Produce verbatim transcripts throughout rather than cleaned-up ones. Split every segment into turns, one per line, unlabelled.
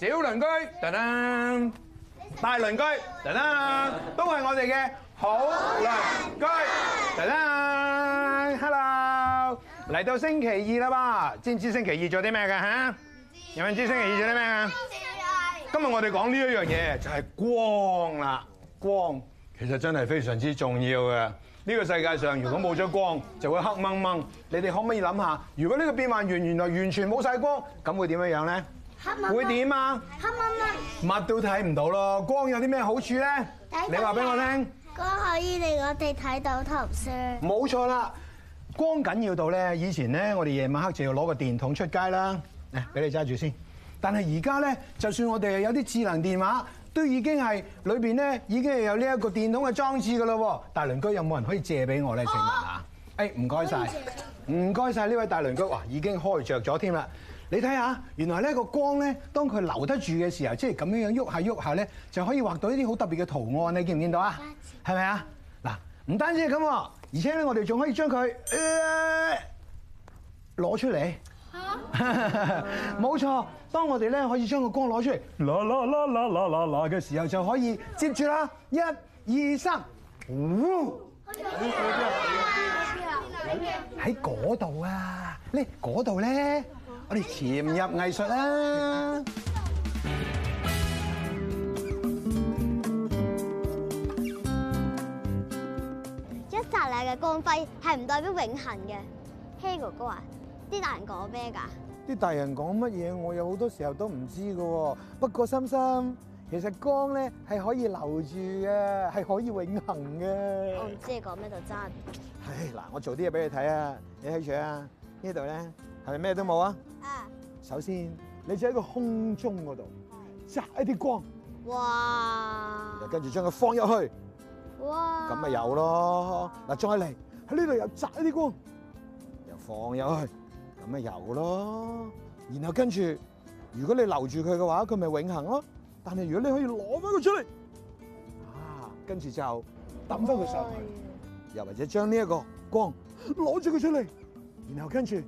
小鄰居，噔噔，大鄰居，噔噔，都係我哋嘅好鄰居，噔噔 ，hello， 嚟到星期二啦噃，知唔知星期二做啲咩㗎嚇？有冇人知星期二做啲咩啊？今日我哋講呢一樣嘢就係光啦，光其實真係非常之重要嘅。呢個世界上如果冇咗光，就會黑掹掹。你哋可唔可以諗下，如果呢個變幻園原來完全冇晒光，咁會點樣樣咧？
黑掹掹
會點啊？
黑掹掹，
乜都睇唔到咯。光有啲咩好處咧？你話俾我聽。
光可以令我哋睇到圖書。
冇錯啦，光緊要到咧，以前咧我哋夜晚黑就要攞個電筒出街啦。嚟，俾你揸住先。但係而家咧，就算我哋有啲智能電話，都已經係裏邊咧已經係有呢一個電筒嘅裝置㗎啦喎。大鄰居有冇人可以借俾我咧？請問啊？誒，唔該晒，唔該晒呢位大鄰居。哇，已經開着咗添啦！你睇下，原來呢個光咧，當佢留得住嘅時候，即係咁樣樣喐下喐下咧，就可以畫到呢啲好特別嘅圖案。你見唔見到啊？係咪啊？嗱，唔單止係咁，而且咧，我哋仲可以將佢攞出嚟。冇錯，當我哋咧可以將個光攞出嚟，啦啦啦啦啦啦啦嘅時候，就可以接住啦，一、二、三，喺嗰度啊！呢嗰度咧，我哋潛入藝術啦！
一剎那嘅光輝係唔代表永恆嘅。希哥哥啊，啲大人講咩㗎？
啲大人講乜嘢，我有好多時候都唔知㗎喎。不過心心，其實光咧係可以留住嘅，係可以永恆嘅。
我唔知你講咩就真。
唉，嗱，我做啲嘢俾你睇啊！你睇住啊，呢度咧係咪咩都冇啊？
啊！
首先，你就喺個空中嗰度擲一啲光，
哇！
又跟住將佢放入去，
哇！
咁咪有咯。嗱，再嚟喺呢度又擲一啲光，又放入去，咁咪有咯。然後跟住，如果你留住佢嘅話，佢咪永恆咯。但係如果你可以攞翻佢出嚟，啊，跟住就抌翻佢上去，又或者將呢一個光攞住佢出嚟，然後跟住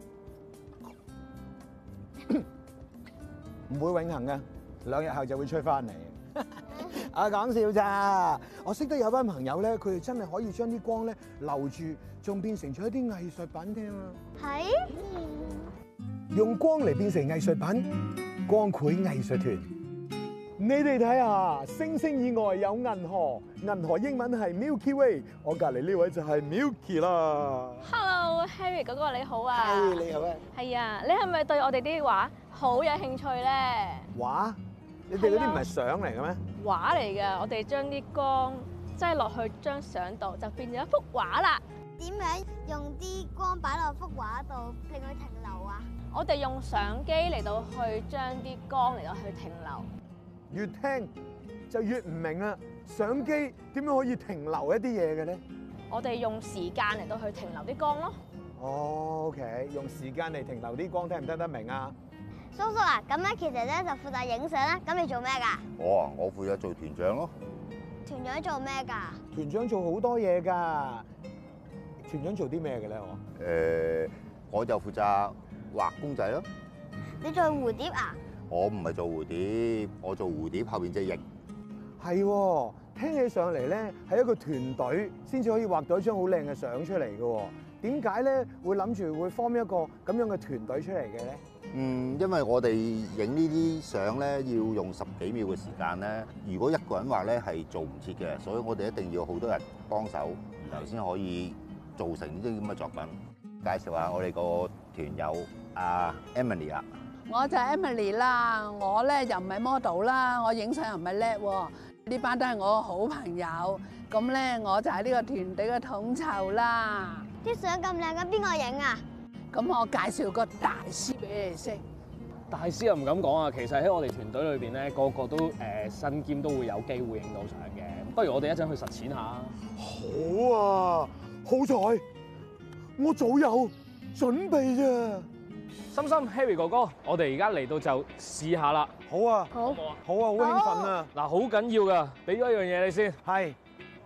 唔會永恆嘅，兩日後就會吹翻嚟。啊，講笑咋？我識得有班朋友咧，佢哋真係可以將啲光咧留住，仲變成咗一啲藝術品添啊！
係。
用光嚟變成藝術品，光繪藝術團。你哋睇下，星星以外有銀河，銀河英文係 Milky Way， 我隔離呢位就係 Milky 啦。
Hello，Harry 哥哥你好啊。
係，你好啊。
係啊，你係咪對我哋啲畫好有興趣咧？
畫？你哋嗰啲唔係相嚟嘅咩？
畫嚟㗎，我哋將啲光擠落去張相度，就變咗一幅畫啦。
點樣用啲光擺落幅畫度令佢停留啊？
我哋用相機嚟到去將啲光嚟到去停留。
越聽就越唔明啦。相機點樣可以停留一啲嘢嘅咧？
我哋用時間嚟到去停留啲光咯。
哦 ，OK， 用時間嚟停留啲光，聽唔聽得明啊？
叔叔啊，咁咧其實咧就負責影相啦。咁你做咩㗎？
我啊，我負責做團長咯。
團長做咩㗎？
團長做好多嘢㗎。團長做啲咩嘅咧？我
誒，我就負責畫公仔咯。
你做蝴蝶啊？
我唔係做蝴蝶，我做蝴蝶後邊隻翼。
係喎，聽起上嚟咧係一個團隊先至可以畫到一張好靚嘅相出嚟嘅喎。點解咧會諗住會 form 一個咁樣嘅團隊出嚟嘅咧？
嗯，因為我哋影呢啲相咧要用十幾秒嘅時間咧，如果一個人畫咧係做唔切嘅，所以我哋一定要好多人幫手，然後先可以做成呢啲咁嘅作品。介紹下我哋個團友阿 Emily 啊。
我就係 Emily 啦，我咧又唔係 model 啦，我影相又唔係叻喎。呢班都係我嘅好朋友，咁咧我就係呢個團隊嘅統籌啦。
啲相咁靚嘅，邊個影啊？
咁我介紹個大師俾你識。
大師又唔敢講啊，其實喺我哋團隊裏邊咧，個個都誒身兼都會有機會影到相嘅。不如我哋一陣去實踐下。
好啊，好彩我早有準備啫。
心心 Harry 哥哥，我哋而家嚟到就試下啦。
好啊，
好，
好啊，好興奮啊！
嗱，好緊要噶，俾咗一樣嘢你先。
係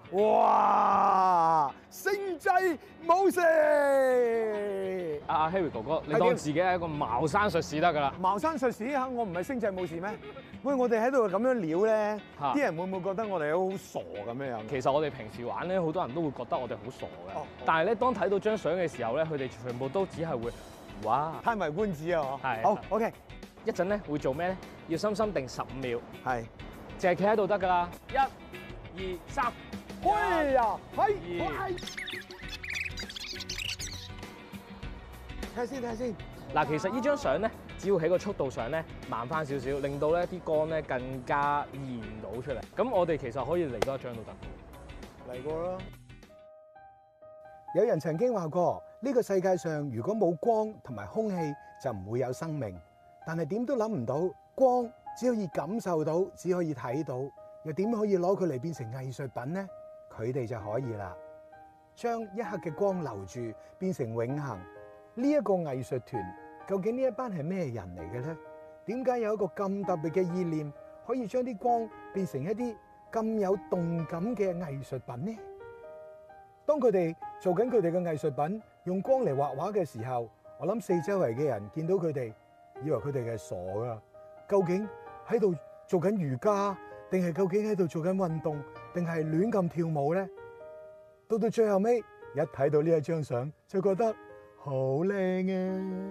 哇！星際武士，
阿 Harry 哥哥，你
係點
當自己係一個茅山術士得㗎啦。
茅山術士嚇，我唔係星際武士咩？喂，我哋喺度咁樣撩咧，
嚇
啲人會唔會覺得我哋好傻咁樣樣？
其實我哋平時玩咧，好多人都會覺得我哋好傻嘅。
哦
但係咧，當睇到張相嘅時候咧，佢哋全部都只係會哇！
歎為觀止啊！
係
好 OK，
一陣咧會做咩咧？要深深定十五秒，
係。
淨係企喺度得㗎啦。一、二、三，
哎呀，係，
二
睇下先，睇下先。
嗱，其實呢張相咧，只要喺個速度上咧慢翻少少，令到咧啲光咧更加現到出嚟。咁我哋其實可以嚟多一張都得。
嚟過啦。
有人曾經話過，呢個世界上如果冇光同埋空氣，就唔會有生命。但係點都諗唔到，光只可以感受到，只可以睇到，又點可以攞佢嚟變成藝術品呢？佢哋就可以啦，將一刻嘅光留住，變成永恆。呢一個藝術團，究竟呢一班係咩人嚟嘅咧？點解有一個咁特別嘅意念，可以將啲光變成一啲咁有動感嘅藝術品呢？當佢哋做緊佢哋嘅藝術品，用光嚟畫畫嘅時候，我諗四周圍嘅人見到佢哋，以為佢哋係傻噶。究竟喺度做緊瑜伽，定係究竟喺度做緊運動，定係亂咁跳舞咧？到到最後尾，一睇到呢一張相，就覺得好靚啊！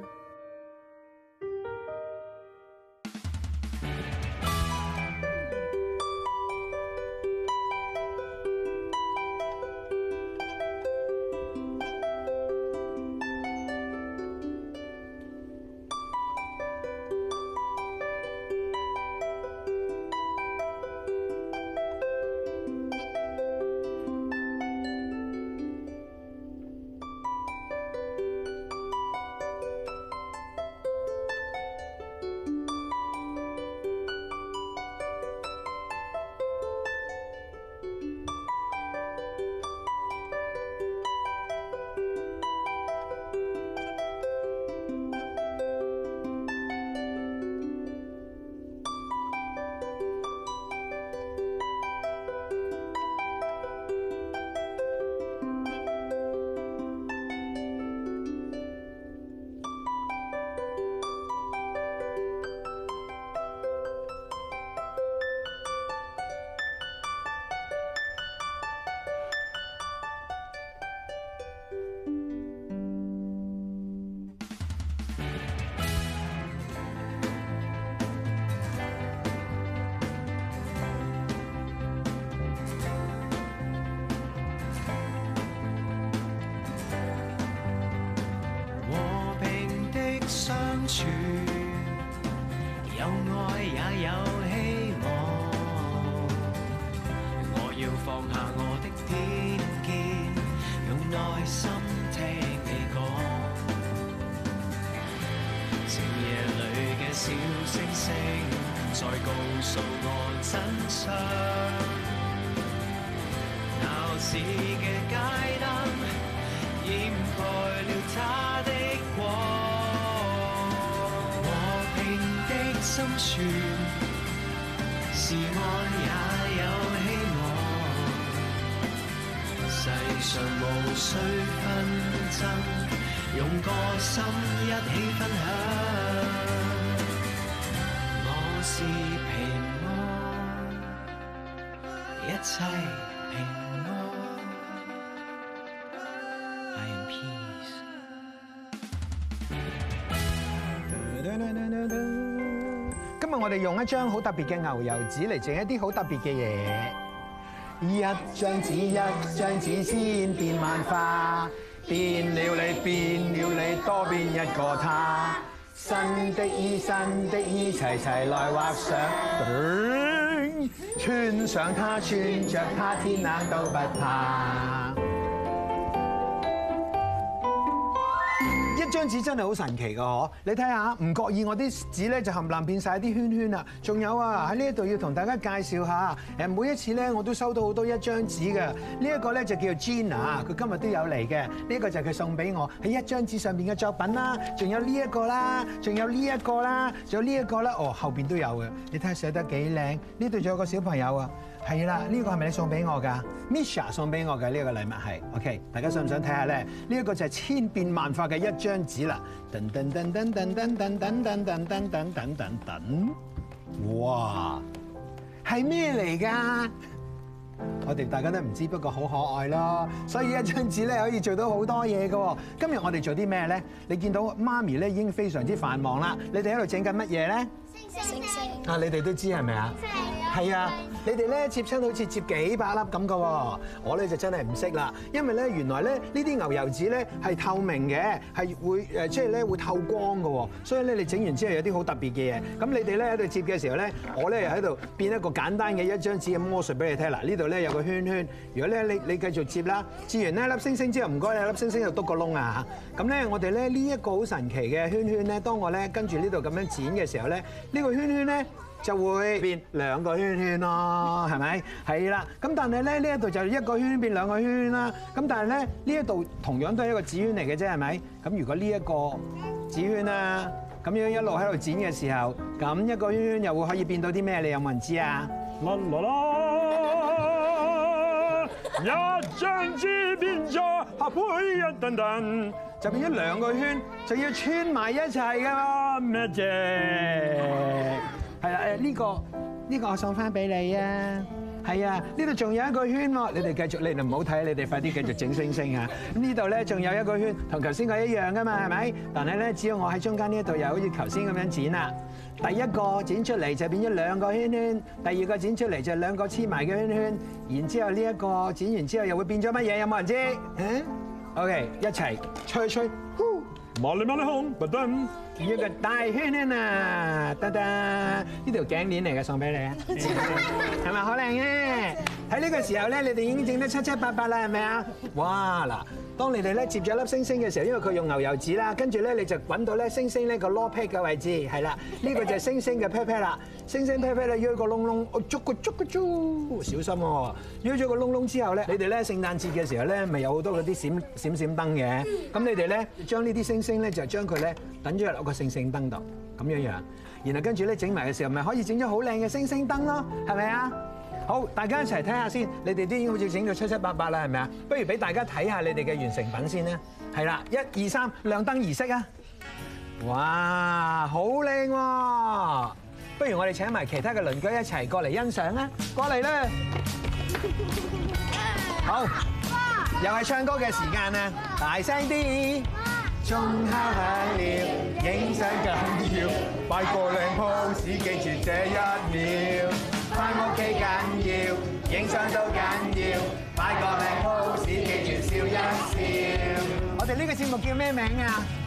有愛也有希望，我要放下我的偏見，用耐心聽你講。靜夜裏嘅小星星，再告訴我真相。鬧市嘅街燈掩蓋了它的光。心存是愛也有希望，世上無需紛爭，用個心一起分享。我是平安，一切平安。I am peace。
今日我哋用一張好特別嘅牛油紙嚟整一啲好特別嘅嘢。一張紙一張紙千變萬化，變了你變了你多變一個他。新的衣新的衣齊齊來畫上，穿上它穿着它天冷都不怕。一張紙真係好神奇㗎嗬！你睇下，唔覺意我啲紙咧就冚唪唥變晒啲圈圈啦。仲有啊，喺呢一度要同大家介紹下，誒每一次咧我都收到好多一張紙嘅。呢一個咧就叫 Gina，佢今日都有嚟嘅。呢個就係佢送俾我喺一張紙上邊嘅作品啦。仲有呢一個啦，仲有呢一個啦，仲有呢一個啦。哦，後邊都有嘅。你睇下寫得幾靚。呢度仲有個小朋友啊， 係啦，呢個係咪你送俾我㗎 ？Misha 送俾我嘅呢個禮物係 OK， 大家想唔想睇下咧？呢一個就係千變萬化嘅一張紙啦！噔噔噔噔噔噔噔噔噔噔噔噔噔噔噔，哇！係咩嚟㗎？我哋大家都唔知，不過好可愛咯。所以一張紙咧可以做到好多嘢㗎。今日我哋做啲咩咧？你見到媽咪咧已經非常之繁忙啦。你哋喺度整緊乜嘢咧？星星啊！你哋都知係咪啊？係啊！你哋咧接親好似接幾百粒咁㗎喎。我咧就真係唔識啦，因為咧原來咧呢啲牛油紙咧係透明嘅，係會誒即係咧會透光㗎喎。所以咧你整完之後有啲好特別嘅嘢。咁你哋咧喺度接嘅時候咧，我咧又喺度變一個簡單嘅一張紙嘅魔術俾你聽。嗱，呢度咧有個圈圈，如果咧你你繼續接啦，接完呢粒星星之後，唔該你粒星星就篤個窿啊嚇。咁咧我哋咧呢一個好神奇嘅圈圈咧，當我咧跟住呢度咁樣剪嘅時候咧，呢個圈圈咧就會變兩個圈圈咯，係咪？係啦。咁但係咧呢一度就一個圈變兩個圈啦。咁但係咧呢一度同樣都係一個紙圈嚟嘅啫，係咪？咁如果呢一個紙圈啊咁樣一路喺度剪嘅時候，咁一個圈圈又會可以變到啲咩？你有冇人知啊？啦啦啦！一張紙變咗合配一噔噔，就變咗兩個圈，就要穿埋一齊噶嘛，Magic！係啦，誒呢個呢個我送翻俾你啊！係啊，呢度仲有一個圈喎，你哋繼續，你哋唔好睇，你哋快啲繼續整星星啊！咁呢度咧仲有一個圈，同頭先佢一樣噶嘛，係咪？但係咧，只要我喺中間呢一度又好似頭先咁樣剪啦。第一個剪出嚟就變咗兩個圈圈，第二個剪出嚟就兩個黐埋嘅圈圈，然之後呢一個剪完之後又會變咗乜嘢？有冇人知？嗯 ？OK， 一齊吹吹，呼！麻利麻利紅不登，一個大圈圈啊！得得，呢條頸鏈嚟嘅，送俾你啊！係咪好靚嘅？喺呢個時候咧，你哋已經整得七七八八啦，係咪啊？哇！嗱，當你哋咧接咗粒星星嘅時候，因為佢用牛油紙啦，跟住咧你就揾到咧星星呢個 low pat 嘅位置，係啦，呢個就係星星嘅 pat pat 啦。星星 pat pat 咧，喐個窿窿，我捉個捉個捉，小心喎！喐咗個窿窿之後咧，你哋咧聖誕節嘅時候咧，咪有好多嗰啲閃閃閃燈嘅，咁你哋咧將呢啲星星咧就將佢咧等咗入個星星燈度，咁樣樣，然後跟住咧整埋嘅時候，咪可以整咗好靚嘅星星燈咯，係咪啊？好，大家一齊睇下先，你哋都已經好似整到七七八八啦，係咪啊？不如俾大家睇下你哋嘅完成品先啦。係啦，一二三，亮燈儀式啊！哇，好靚喎！不如我哋請埋其他嘅鄰居一齊過嚟欣賞啦，過嚟啦！好，又係唱歌嘅時間啦，大聲啲！鐘敲響了，影相緊要，擺個靚 pose，記住這一秒。返屋企緊要，影相都緊要，擺個靚 pose，記住笑一笑。我哋呢個節目叫咩名啊？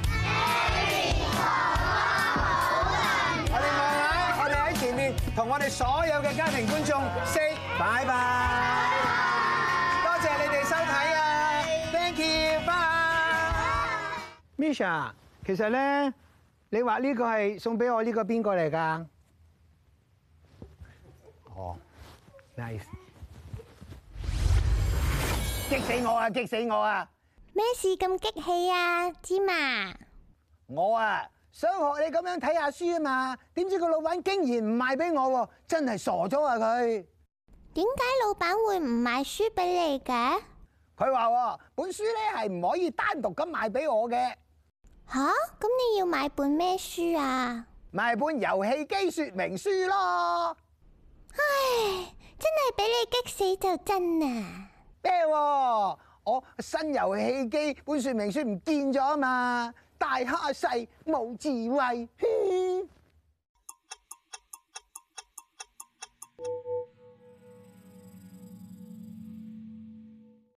我哋望下，我哋喺前面同我哋所有嘅家庭觀眾 say 拜拜。多謝你哋收睇啊 ！Thank you， bye。Misha， 其實咧，你話呢個係送俾我呢個邊個嚟㗎？哦 ，nice！ 激死我啊！激死我啊！
咩事咁激氣啊，芝麻？
我啊，想學你咁樣睇下書啊嘛，點知個老闆竟然唔賣俾我喎，真係傻咗啊佢！
點解老闆會唔賣書俾你嘅？
佢話本書咧係唔可以單獨咁賣俾我嘅。
吓？咁你要買本咩書啊？
買本遊戲機說明書咯。
唉，真係俾你激死就真啊！
咩？我新遊戲機本說明書唔見咗啊嘛，大蝦細冇智慧。